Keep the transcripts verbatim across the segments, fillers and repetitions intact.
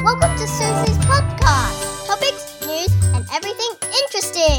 Welcome to Susie's podcast. Topics, news, and everything interesting.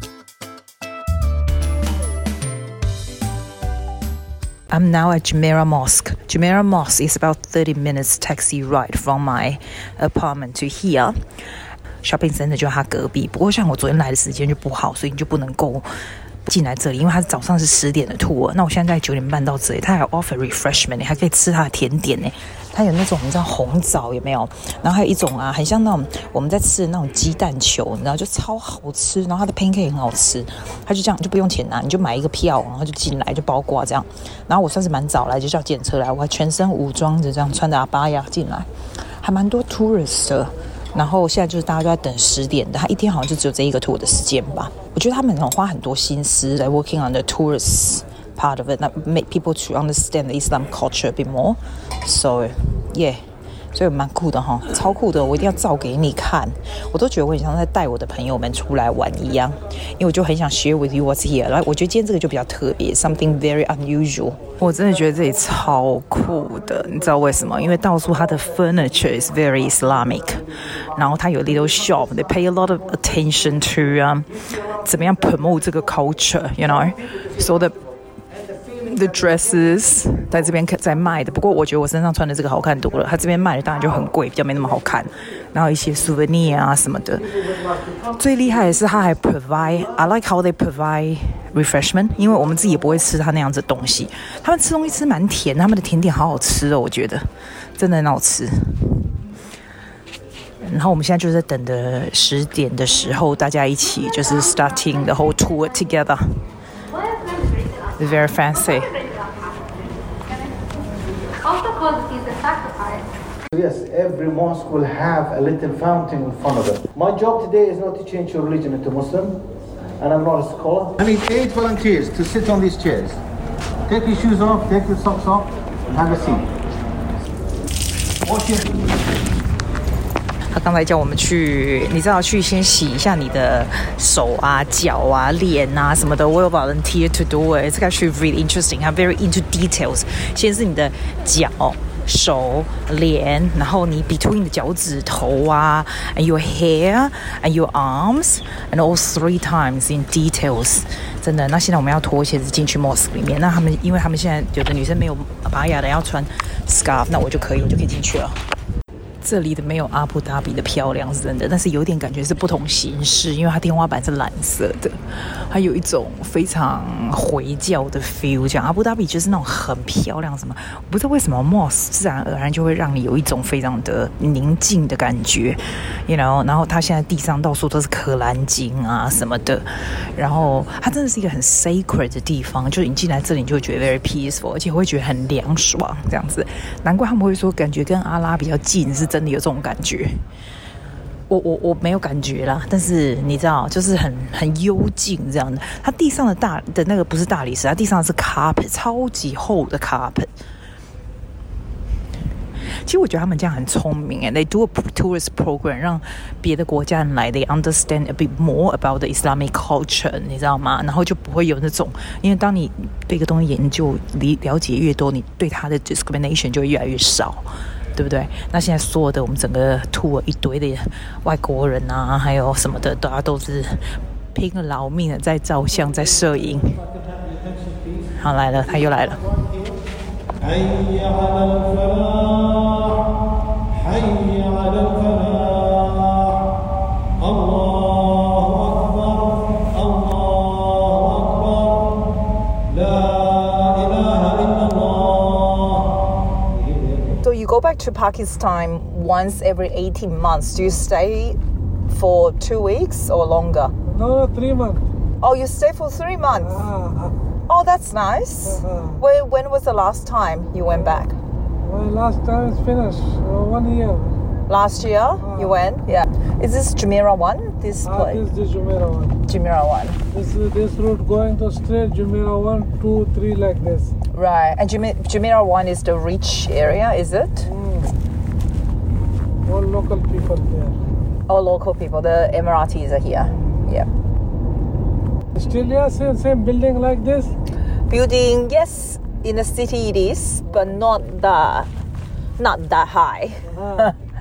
I'm now at Jumeirah Mosque. Jumeirah Mosque is about thirty minutes taxi ride from my apartment to here. Shopping center 就它隔壁，不过像我昨天來的時間就不好，所以你就不能夠進來這裡，因為它早上是十點的 tour， 那我現在在九點半到這裡，它還有 offer refreshment， 你還可以吃它的甜點呢。它有那種你知道紅棗有沒有？然後還有一種啊，很像那種我們在吃的那種雞蛋球，你知道就超好吃，然後它的 pancake 很好吃，它就這樣就不用錢拿，你就買一個票，然後就進來就包括這樣。然後我算是蠻早來，就叫計程車來，我還全身武裝着這樣穿着阿巴亞進來，還蠻多 tourist 的。然後現在就是大家都在等十點的，他一天好像就只有這一個 tour 的時間吧。我覺得他們很花很多心思來 working on the tourist part of it, that make people to understand the Islam culture a bit more. So, yeah. 所以蠻酷的哈，超酷的，我一定要照給你看。我都覺得我很像在帶我的朋友們出來玩一樣，因為我就很想 share with you what's here。然後我覺得今天這個就比較特別 ，something very unusual。我真的覺得這裡超酷的，你知道為什麼？因為到處它的 furniture is very Islamic， 然後它有 little shop，they pay a lot of attention to、um, 怎麼樣 promote 這個 culture，you know，so the。The dresses 在這邊在賣的，不過我覺得我身上穿的這個好看多了。他這邊賣的當然就很貴，比較沒那麼好看。然後一些 souvenir 啊什麼的。最厲害的是他還 provide，I like how they provide refreshment， 因為我們自己也不會吃他那樣子的東西。他們吃東西吃蠻甜，他們的甜點好好吃哦，我覺得真的很好吃。然後我們現在就是在等的十點的時候，大家一起就是 starting the whole tour together。They're very fancy. Also called is the sacrifice. Yes, every mosque will have a little fountain in front of it. My job today is not to change your religion into Muslim, and I'm not a scholar. I need eight volunteers to sit on these chairs. Take your shoes off, take your socks off, and have a seat. Wash your hands. 他剛才叫我們去，你知道去先洗一下你的手啊、腳啊、臉啊什麼的。我有 volunteer to do it. It's actually really interesting. I'm very into details. 先是你的腳、手、臉，然後你 between 的腳趾頭啊 ，and your hair and your arms and all three times in details. 真的。那現在我們要脫鞋子進去 mosque 裡面。那他們因為他們現在有的女生沒有巴雅的要穿 scarf， 那我就可以，我就可以進去了。這裡的沒有阿布達比的漂亮是真的，但是有點感覺是不同形式，因為它天花板是藍色的，它有一種非常回教的 feel。講阿布達比就是那種很漂亮什麼，我不知道為什麼 mosque 自然而然就會讓你有一種非常的寧靜的感覺 ，you know。然後它現在地上到處都是可蘭經啊什麼的，然後它真的是一個很 sacred 的地方，就是你進來這裡你就會覺得 very peaceful， 而且會覺得很涼爽這樣子。難怪他們會說感覺跟阿拉比較近是真的有這種感覺，我我我沒有感覺啦，但是你知道，就是很很幽靜這樣的。它地上的大的那個不是大理石，它地上是 carpet， 超級厚的 carpet。其實我覺得他們這樣很聰明誒 ，they do a tourist program， 讓別的國家人來 ，they understand a bit more about the Islamic culture， 你知道嗎？然後就不會有那種，因為當你對一個東西研究、了解越多，你對它的 discrimination 就會越來越少。對不對？那現在所有的我們整個 tour 一堆的外國人啊，還有什麼的，大家都是拼了老命的在照相，在攝影。好，來了，他又來了。You go back to Pakistan once every eighteen months. Do you stay for two weeks or longer? No, no, three months. Oh, you stay for three months? Uh, oh, that's nice. Uh, when, when was the last time you went back? Well, last time it's finished. Uh, one year. Last year uh, you went? Yeah. Is this Jumeirah one? This uh, place? This is Jumeirah one. Jumeirah one. This is this route going to straight Jumeirah one, two, three like this. Right. And Jumeirah one is the rich area, is it? Mm. All local people there. All local people. The Emiratis are here. Yeah. Still, yeah, same, same building like this? Building, yes. In the city it is, but not that, not that high. Ah.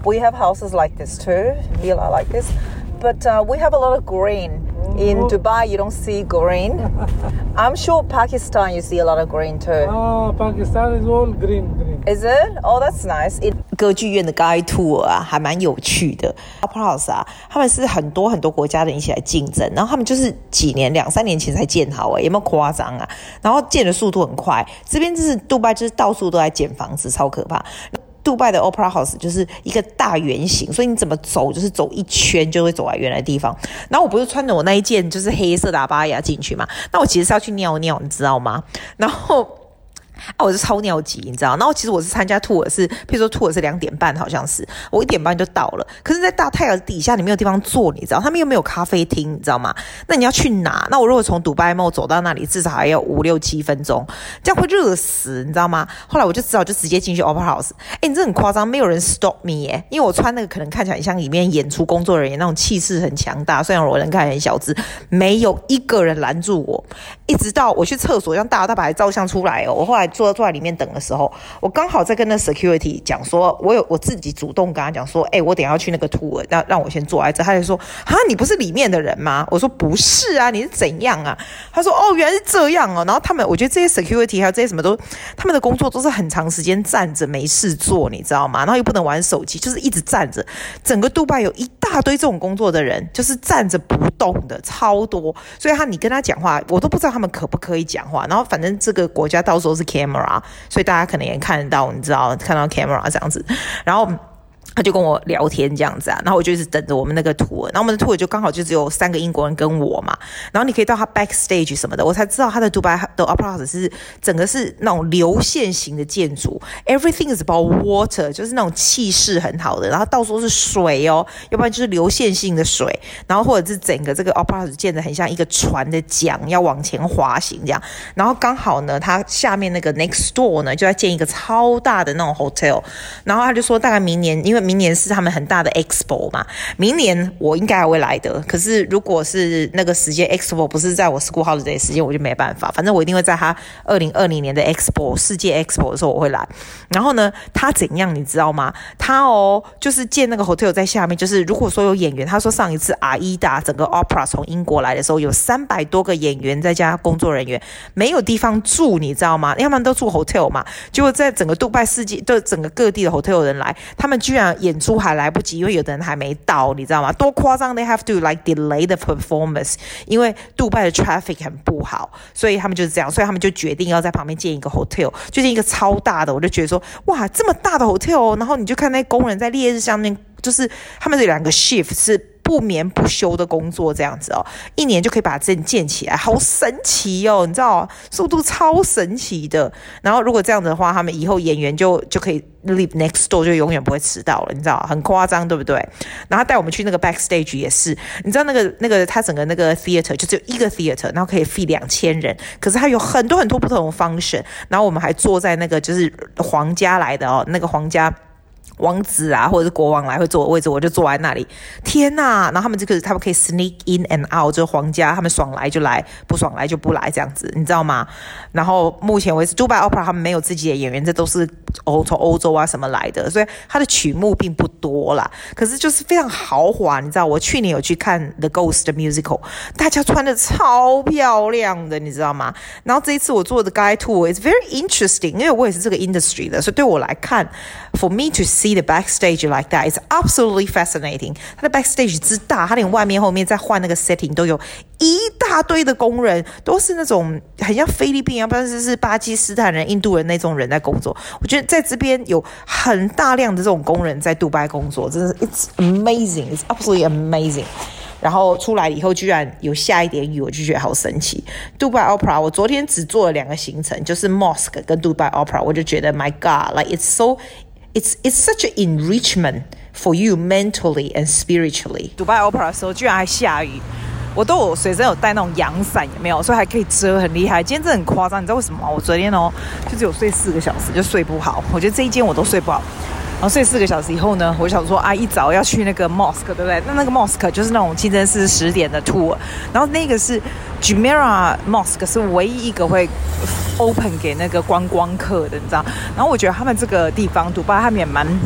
We have houses like this too, villa like this, but uh, we have a lot of green. In Dubai, you don't see green. I'm sure Pakistan, you see a lot of green too. Ah, Pakistan is all green, green. Is it? Oh, that's nice. It, 歌劇院的 guide tour 啊，還蠻有趣的。Opera House 啊，他們是很多很多國家的人一起來競爭，然後他們就是幾年兩三年前才建好誒，有沒有誇張啊？然後建的速度很快，這邊就是杜拜，就是到處都在建房子，超可怕。杜拜的 Opera House 就是一個大圓形，所以你怎麼走就是走一圈就會走來原來的地方。然後我不是穿着我那一件就是黑色的阿巴亞進去嘛，那我其實是要去尿尿，你知道嗎？然後啊，我是超尿急，你知道？然後其實我是參加 tour 是，譬如說 tour 是兩點半，好像是我一點半就到了。可是，在大太陽底下，你沒有地方坐，你知道？他們又沒有咖啡廳，你知道嗎？那你要去哪？那我如果從 Dubai Mall 走到那裡，至少還要五六七分鐘，這樣會熱死，你知道嗎？後來我就只好就直接進去 Opera House。哎，你這很誇張，沒有人 stop me 耶，因為我穿那個可能看起來像裡面演出工作人員那種氣勢很強大，雖然我人看起來很小只，沒有一個人攔住我。一直到我去廁所，讓大搖大擺照相出來哦。我後來坐坐在裡面等的時候，我剛好在跟那 security 講說，我有我自己主動跟他講說，哎、欸，我等一下要去那個 tour，讓讓我先坐在這。他就說，哈，你不是裡面的人嗎？我說不是啊，你是怎樣啊？他說，哦，原來是這樣哦。然後他們，我覺得這些 security 還有這些什麼都，他們的工作都是很長時間站着沒事做，你知道嗎？然後又不能玩手機，就是一直站着。整個杜拜有一大堆這種工作的人，就是站着不動的，超多。所以他你跟他講話，我都不知道他們可不可以講話。然後反正這個國家到時候是 camera。所以大家可能也看得到，你知道，看到 camera 這樣子，然後他就跟我聊天這樣子啊，然後我就一直等着我們那個 tour，然後我們的 tour 就剛好就只有三個英國人跟我嘛，然後你可以到他 backstage 什麼的，我才知道他的 Dubai 的 Opera House 是整個是那種流線型的建築 ，everything is about water， 就是那種氣勢很好的，然後到處都是水哦，要不然就是流線性的水，然後或者是整個這個 Opera House 建得很像一個船的槳要往前滑行這樣，然後剛好呢，他下面那個 next door 呢就在建一個超大的那種 hotel， 然後他就說大概明年因為明年是他們很大的 expo 嘛，明年我應該還會來的。可是如果是那個時間 expo 不是在我 school holiday 的時間，我就沒辦法。反正我一定會在他二零二零年的 expo 世界 expo 的時候我會來。然後呢，他怎樣你知道嗎？他哦，就是建那個 hotel 在下面，就是如果說有演員，他說上一次阿依達整個 opera 從英國來的時候，有三百多個演員再加工作人員，沒有地方住，你知道嗎？要不然都住 hotel 嘛。結果在整個杜拜世界的整個各地的 hotel 的人來，他們居然演出還來不及，因為有的人還沒到，你知道嗎？多誇張 ！They have to like delay the performance， 因為杜拜的 traffic 很不好，所以他們就是這樣，所以他們就決定要在旁邊建一個 hotel， 就建一個超大的。我就覺得說，哇，這麼大的 hotel， 然後你就看那工人在烈日下面，就是他們這兩個 shift 是不眠不休的工作，這樣子哦，一年就可以把這建起來，好神奇哦！你知道，速度超神奇的。然後如果這樣子的話，他們以後演員就就可以 live next door， 就永遠不會遲到了，你知道，很誇張，對不对？然後他帶我們去那個 backstage 也是，你知道那個那個他整個那個 theater 就只有一個 theater， 然後可以 feed 兩千人，可是他有很多很多不同的 function， 然後我們還坐在那個就是皇家來的哦，那個皇家。王子啊，或者是國王來會坐的位置，我就坐在那裡。天哪！然後他們這個他們可以 sneak in and out， 就是皇家，他們爽來就來，不爽來就不來，這樣子，你知道嗎？然後目前為止，Dubai Opera 他們沒有自己的演員，這都是歐從歐洲啊什麼來的，所以他的曲目並不多啦。可是就是非常豪華，你知道，我去年有去看 The Ghost Musical， 大家穿的超漂亮的，你知道嗎？然後這一次我做的 guide tour is very interesting， 因為我也是這個 industry 的，所以對我來看 ，for me to see the backstage like that is absolutely fascinating。它的 backstage 之大，它連外面後面再換那個 setting 都有一大堆的工人，都是那種很像菲律賓啊，不然是巴基斯坦人、印度人那種人在工作。我覺得在這邊有很大量的這種工人在杜拜工作，真的是 it's amazing, it's absolutely amazing。然後出來以後居然有下一點雨，我就覺得好神奇。Dubai Opera 我昨天只做了兩個行程，就是 Mosque 跟 Dubai Opera， 我就覺得 My God, like it's so It's it's such an enrichment for you mentally and spiritually. Dubai Opera 的時候居然還下雨，我都有隨身有帶那種陽傘，有沒有？所以還可以遮，很厲害。今天真的很誇張，你知道為什麼嗎？我昨天哦就只有睡四個小時，就睡不好。我覺得這一間我都睡不好。然後睡四個小時以後呢，我想說啊，一早要去那個 mosque， 對不對？那那個 mosque 就是那種清真寺十點的 tour， 然後那個是 Jumeirah Mosque 是唯一一個會 open 給那個觀光客的，你知道？然後我覺得他們這個地方，杜拜他們也蠻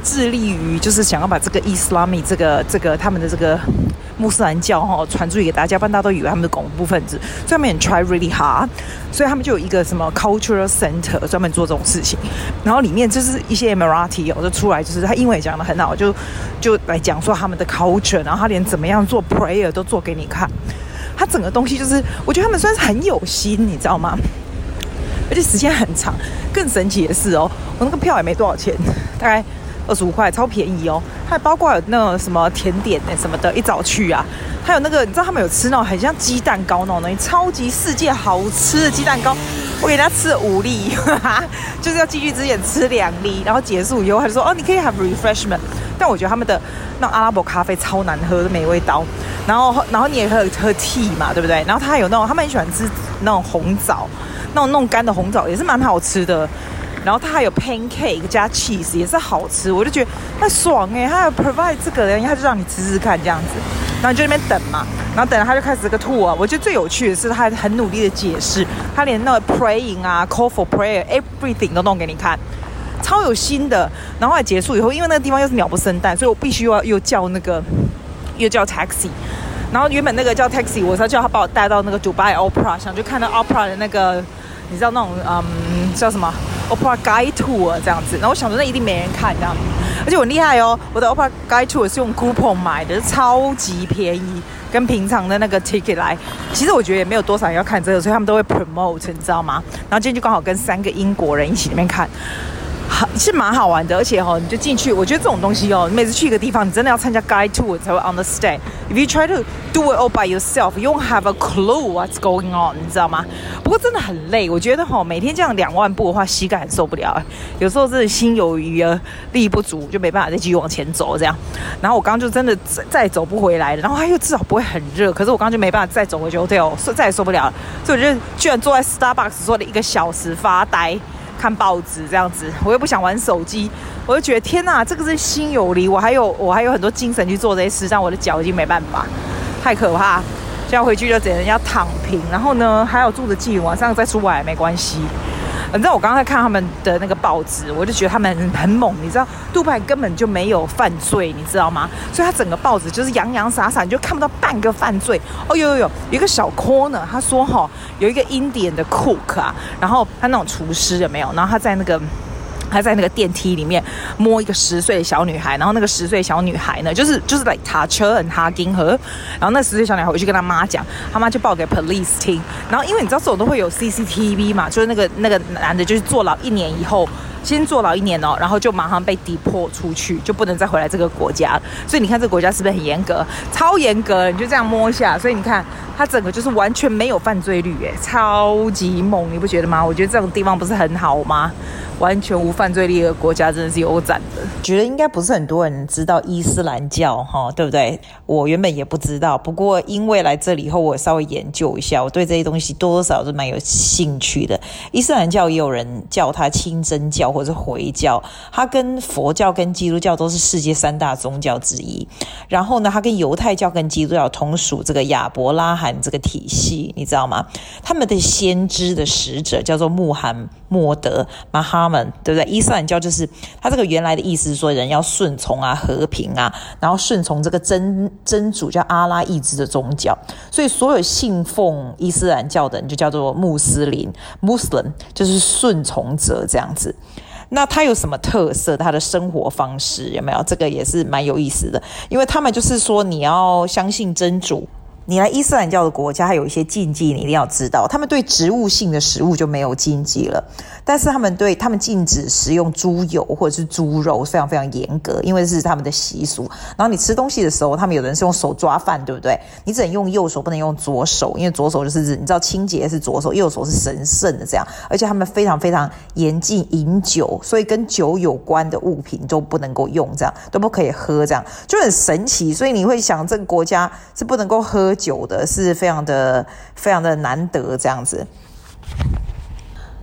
致力於就是想要把這個 Islamic 這個這個他們的這個穆斯蘭教哈傳出去給大家，不然大家都以為他們是恐怖分子，所以他們也 try really hard， 所以他們就有一個什麼 cultural center 專門做這種事情，然後裡面就是一些 Emirati 哦就出來，就是他英文也講得很好，就就來講說他們的 culture， 然後他連怎麼樣做 prayer 都做給你看，他整個東西就是我覺得他們算是很有心，你知道嗎？而且時間很長，更神奇的是哦，我那個票也沒多少錢，大概二十五塊，超便宜哦。還包括有那種什麼甜點什麼的，一早去啊，還有那個你知道他們有吃那種很像雞蛋糕那種東西，超級世界好吃的雞蛋糕，我給他吃了五粒，呵呵就是要進去之前吃兩粒，然後結束以後他就說哦你可以 have refreshment， 但我覺得他們的那種阿拉伯咖啡超難喝，沒味道。然後然後你也可以喝 tea 嘛，對不对？然後他還有那種他們很喜歡吃那種紅棗。那種弄乾的紅棗也是蠻好吃的，然後它還有 pancake 加 cheese 也是好吃，我就覺得很爽哎、欸，它有 provide 這個人，他就讓你吃吃看這樣子，然後你就在那邊等嘛，然後等了他就開始這個 tour，我覺得最有趣的是他很努力的解釋，他連那個 praying 啊 call for prayer everything 都弄給你看，超有心的。然後後來結束以後，因為那個地方又是鳥不生蛋，所以我必須要又叫那個又叫 taxi。然後原本那個叫 taxi， 我是要叫他把我帶到那個 Dubai Opera， 想去看到 Opera 的那個。你知道那種嗯叫什麼 Opera Guide Tour 這樣子，然後我想說那一定沒人看這樣子，而且我很厲害哦，我的 Opera Guide Tour 是用 coupon 買的，超級便宜，跟平常的那個 ticket 來，其實我覺得也沒有多少人要看這個，所以他們都會 promote， 你知道嗎？然後今天就剛好跟三個英國人一起那邊看。是蠻好玩的，而且哦，你就進去，我覺得這種東西哦，你每次去一個地方，你真的要參加 guide tour 才會 understand。If you try to do it all by yourself, you won't have a clue what's going on， 你知道嗎？不過真的很累，我覺得哈、哦，每天這樣兩萬步的話，膝蓋很受不了。有時候真的心有餘而力不足，就沒辦法再繼續往前走這樣。然後我剛剛就真的再走不回來了，然後它又至少不會很熱，可是我剛剛就沒辦法再走回去 hotel， 再也受不了了。所以我就居然坐在 Starbucks 坐了一個小時發呆。看報紙這樣子，我又不想玩手機，我就覺得天哪，這個是心有離，我還有我還有很多精神去做這些事，但我的腳已經沒辦法，太可怕。現在回去就只能要躺平，然後呢還有住得近，晚上再出來也沒關係。你知道我剛才看他們的那個報紙，我就覺得他們很，很猛。你知道杜拜根本就沒有犯罪，你知道嗎？所以他整個報紙就是洋洋灑灑，你就看不到半個犯罪。哦，有有有，有一個小 corner，他說哈、哦，有一個 Indian 的 cook 啊，然後他那種廚師有沒有？然後他在那個。他在那個電梯裡面摸一個十歲的小女孩，然後那個十歲小女孩呢，就是就是來塔車很哈金河，然後那十歲小女孩回去跟她媽講，她媽就報給 police 聽，然後因為你知道這種都會有 C C T V 嘛，就是那個那個男的就是坐牢一年以後。先坐牢一年哦，然後就馬上被 deport 出去，就不能再回來這個國家了。所以你看這個國家是不是很嚴格？超嚴格，你就這樣摸一下。所以你看它整個就是完全沒有犯罪率，哎，超級猛，你不覺得嗎？我覺得這種地方不是很好嗎？完全無犯罪率的國家真的是有讚的。覺得應該不是很多人知道伊斯蘭教哈，對不對？我原本也不知道，不過因為來這裡以後，我稍微研究一下，我對這些東西多多少少是蠻有興趣的。伊斯蘭教也有人叫它清真教或者是回教，它跟佛教跟基督教都是世界三大宗教之一。然後呢，它跟猶太教跟基督教同屬這個亞伯拉罕這個體系，你知道嗎？他們的先知的使者叫做穆罕默德 Muhammad， 對不對？伊斯蘭教就是它這個原來的意思是說人要順從啊、和平啊，然後順從這個真真主叫阿拉意志的宗教。所以所有信奉伊斯蘭教的人就叫做穆斯林 Muslim， 就是順從者這樣子。那它有什麼特色？它的生活方式有沒有？這個也是蠻有意思的，因為他們就是說你要相信真主。你來伊斯蘭教的國家，還有一些禁忌，你一定要知道。他們對植物性的食物就沒有禁忌了，但是他們對他們禁止食用豬油或者是豬肉，非常非常嚴格，因為這是他們的習俗。然後你吃東西的時候，他們有人是用手抓飯，對不對？你只能用右手，不能用左手，因為左手就是你知道清潔是左手，右手是神聖的這樣。而且他們非常非常嚴禁飲酒，所以跟酒有關的物品都不能夠用，這樣都不可以喝，這樣就很神奇。所以你會想，這個國家是不能夠喝酒的，是非常的非常的難得這樣子。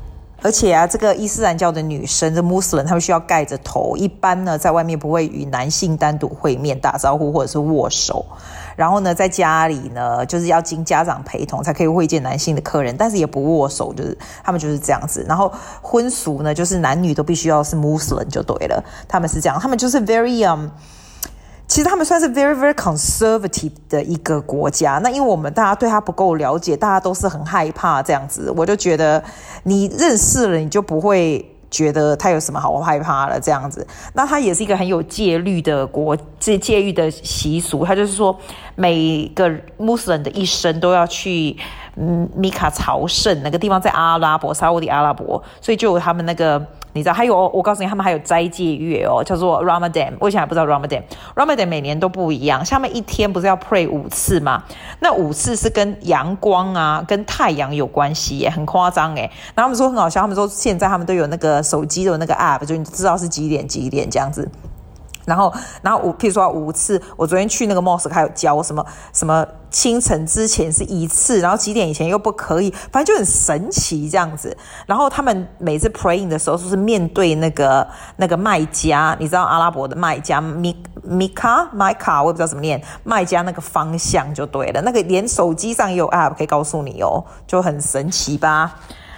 而且啊，這個伊斯蘭教的女生，這 Muslim 她們需要蓋着頭，一般呢在外面不會與男性單獨會面打招呼或者是握手。然後呢，在家裡呢，就是要經家長陪同才可以會見男性的客人，但是也不握手，就是他們就是這樣子。然後婚俗呢，就是男女都必須要是 Muslim 就對了，他們是這樣，他們就是 very um。其實他們算是 very very conservative 的一個國家，那因為我們大家對他不夠了解，大家都是很害怕這樣子，我就覺得你認識了你就不會覺得他有什麼好害怕了這樣子。那他也是一個很有戒律的國戒戒律的習俗，他就是說每個穆斯林的一生都要去嗯米卡朝聖，那個地方在阿拉伯沙烏地阿拉伯，所以就有他們那個。你知道還有，我告訴你，他們還有齋戒月哦，叫做 Ramadan。我以前還不知道 Ramadan，Ramadan 每年都不一樣。像他們一天不是要 pray 五次嗎？那五次是跟陽光啊、跟太陽有關係耶，很誇張耶。然後他們說很好笑，他們說現在他們都有那個手機的那個 app，就你知道是幾點幾點這樣子。然後，然後我譬如說五次，我昨天去那個 mosque 還有教什麼什麼清晨之前是一次，然後幾點以前又不可以，反正就很神奇這樣子。然後他們每次 praying 的時候，就是面對那個那個麥加，你知道阿拉伯的麥加米米卡麥卡，我也不知道怎麼念，麥加那個方向就對了。那個連手機上也有 app 可以告訴你哦，就很神奇吧。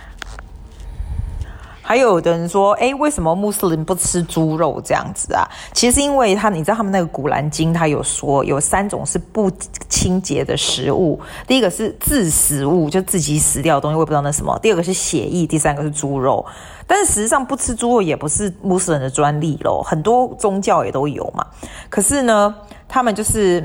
還有的人說，誒，為什麼穆斯林不吃豬肉這樣子啊？其實因為他，你知道他們那個古蘭經，他有說有三種是不清潔的食物。第一個是自死物，就自己死掉的東西，我也不知道那什麼。第二個是血液，第三個是豬肉。但是實際上不吃豬肉也不是穆斯林的專利咯，很多宗教也都有嘛。可是呢，他們就是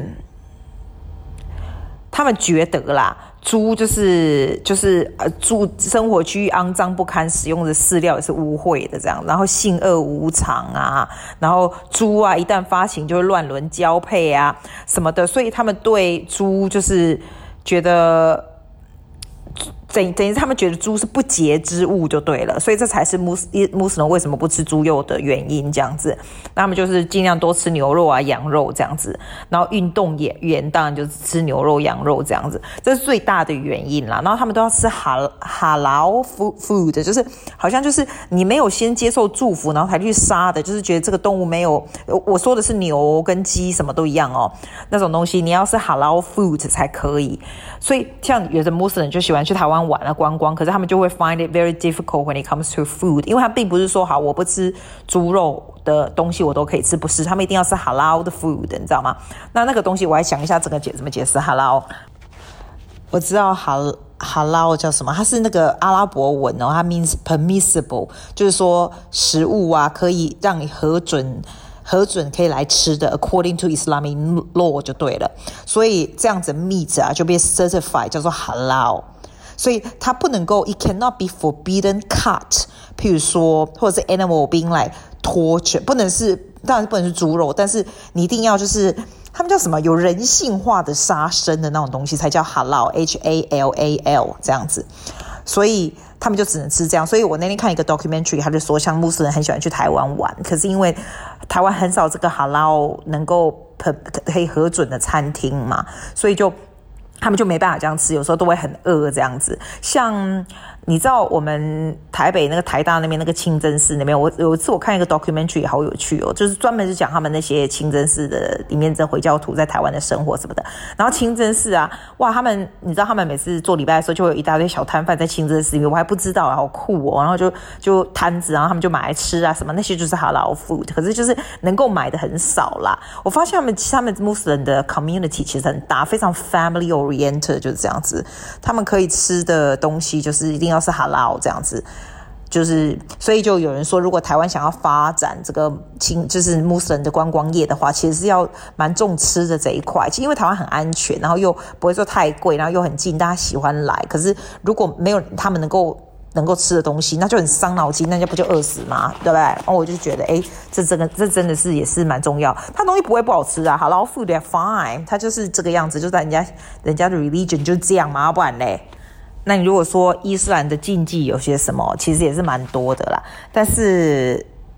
他們覺得啦。豬就是就是呃，豬生活區域骯髒不堪，使用的飼料也是污穢的這樣，然後性惡無常啊，然後豬啊一旦發情就會亂倫交配啊什麼的，所以他們對豬就是覺得。等等於他們覺得豬是不潔之物就對了，所以這才是穆斯穆斯林為什麼不吃豬肉的原因這樣子。那他們就是盡量多吃牛肉啊、羊肉這樣子，然後運動也員當然就是吃牛肉、羊肉這樣子，這是最大的原因啦。然後他們都要吃哈哈勞 food， 就是好像就是你沒有先接受祝福，然後才去殺的，就是覺得這個動物沒有，我說的是牛跟雞什麼都一樣哦，那種東西你要是哈勞 food 才可以。所以像有的穆斯林就喜歡去台灣玩啊觀光，可是他們就會 find it very difficult when it comes to food， 因為他並不是說好我不吃豬肉的東西我都可以吃，不是，他們一定要吃 halal 的 food， 你知道嗎？那那個東西我還想一下整個解怎麼解釋 halal。我知道 halal halal 叫什麼，它是那個阿拉伯文哦，它 means permissible， 就是說食物啊可以讓你核准。核准可以來吃的 according to Islamic law 就對了，所以這樣子 meat 啊就被 certified 叫做 halal， 所以它不能夠 it cannot be forbidden cut， 譬如說或者是 animal being like torture， 不能是當然不能是豬肉，但是你一定要就是他們叫什麼有人性化的殺生的那種東西才叫 halal H A L A L 這樣子，所以他們就只能吃這樣。所以我那天看一個 documentary， 他就說像穆斯林很喜歡去台灣玩，可是因為台灣很少這個 halal 能夠可以核准的餐廳嘛，所以就他們就沒辦法這樣吃，有時候都會很餓這樣子。像你知道我們台北那個台大那邊那個清真寺那邊，我有一次我看一個 documentary 好有趣哦，就是專門是講他們那些清真寺的裡面的回教徒在台灣的生活什麼的。然後清真寺啊，哇，他們你知道他們每次做禮拜的時候就會有一大堆小攤販在清真寺裡面，我還不知道，好酷哦。然後就就攤子，然後他們就買來吃啊什麼，那些就是 halal food， 可是就是能夠買的很少啦。我發現他們他們穆斯林的 community 其實很大，非常 family oriented， 就是這樣子，他們可以吃的東西就是一定要是 halal 這樣子，就是所以就有人說，如果台灣想要發展這個清就是穆斯林的觀光業的話，其實是要蠻重吃的這一塊。其實因為台灣很安全，然後又不會說太貴，然後又很近，大家喜歡來。可是如果沒有他們能夠能夠吃的東西，那就很傷腦筋，那就不就餓死嗎？對不對？然後我就覺得，哎，這真的這真的是也是蠻重要。它東西不會不好吃啊 ，halal food they're fine， 它就是這個樣子，就在人家人家的 religion 就這樣嘛，要不然嘞。那你如果說伊斯蘭的禁忌有些什麼，其實也是蠻多的啦。但是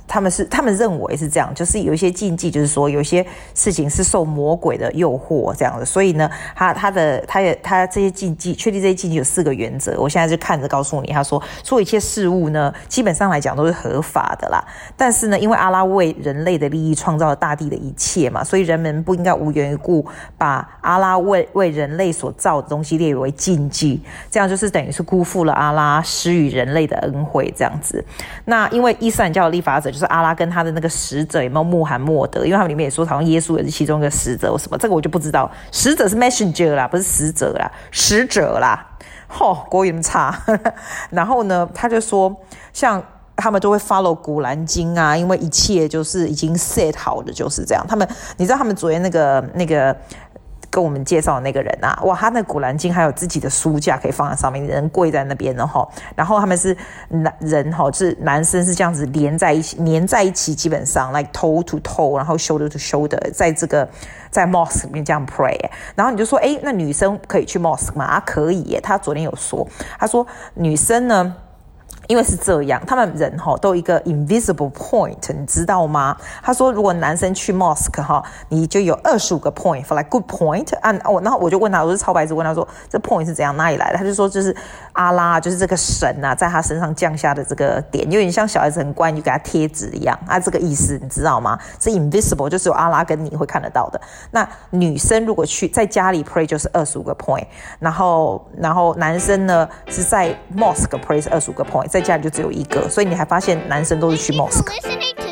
他們是他們認為是這樣，就是有一些禁忌，就是說有一些事情是受魔鬼的誘惑這樣的，所以呢，他他的他也他這些禁忌，確立這些禁忌有四個原則。我現在就看着告訴你，他說做一切事物呢，基本上來講都是合法的啦。但是呢，因為阿拉為人類的利益創造了大地的一切嘛，所以人們不應該無緣無故把阿拉為為人類所造的東西列為禁忌，這樣就是等於是辜負了阿拉施予人類的恩惠這樣子。那因為伊斯蘭教的立法者就是阿拉跟他的那個使者有沒有穆罕默德，因為他們裡面也說好像耶穌也是其中一個使者或什麼，這個我就不知道。使者是 messenger 啦，不是使者啦，使者啦。吼、哦，國語那麼差。然後呢，他就說，像他們都會 follow 古蘭經啊，因為一切就是已經 set 好的就是這樣。他們，你知道他們昨天那個那個。跟我們介紹的那個人啊，哇，他那古蘭經還有自己的書架可以放在上面，人跪在那邊的齁。然後他們是男人齁，就是男生是這樣子連在一起，黏在一起，基本上 like toe to toe，然後 shoulder to shoulder，在這個在 mosque 裡面這樣 pray。然後你就說，哎，那女生可以去 mosque 嗎？啊，可以耶。他昨天有說，他說女生呢。因為是這樣，他們人齁都有一個 invisible point， 你知道嗎？他說，如果男生去 mosque 齁，你就有二十五個 point for like good point。啊，哦，然後我就問他，我是超白痴問他說，這 point 是怎樣哪裡來的？他就說，就是阿拉，就是這個神啊，在他身上降下的這個點，有點像小孩子很乖，你就給他貼紙一樣啊，這個意思你知道嗎？是 invisible，就是有阿拉跟你會看得到的。那女生如果去在家裡 pray 就是二十五個 point， 然後然後男生呢是在 mosque pray 是二十五個 point。在家裡就只有一個，所以你還發現男生都是去 mosque。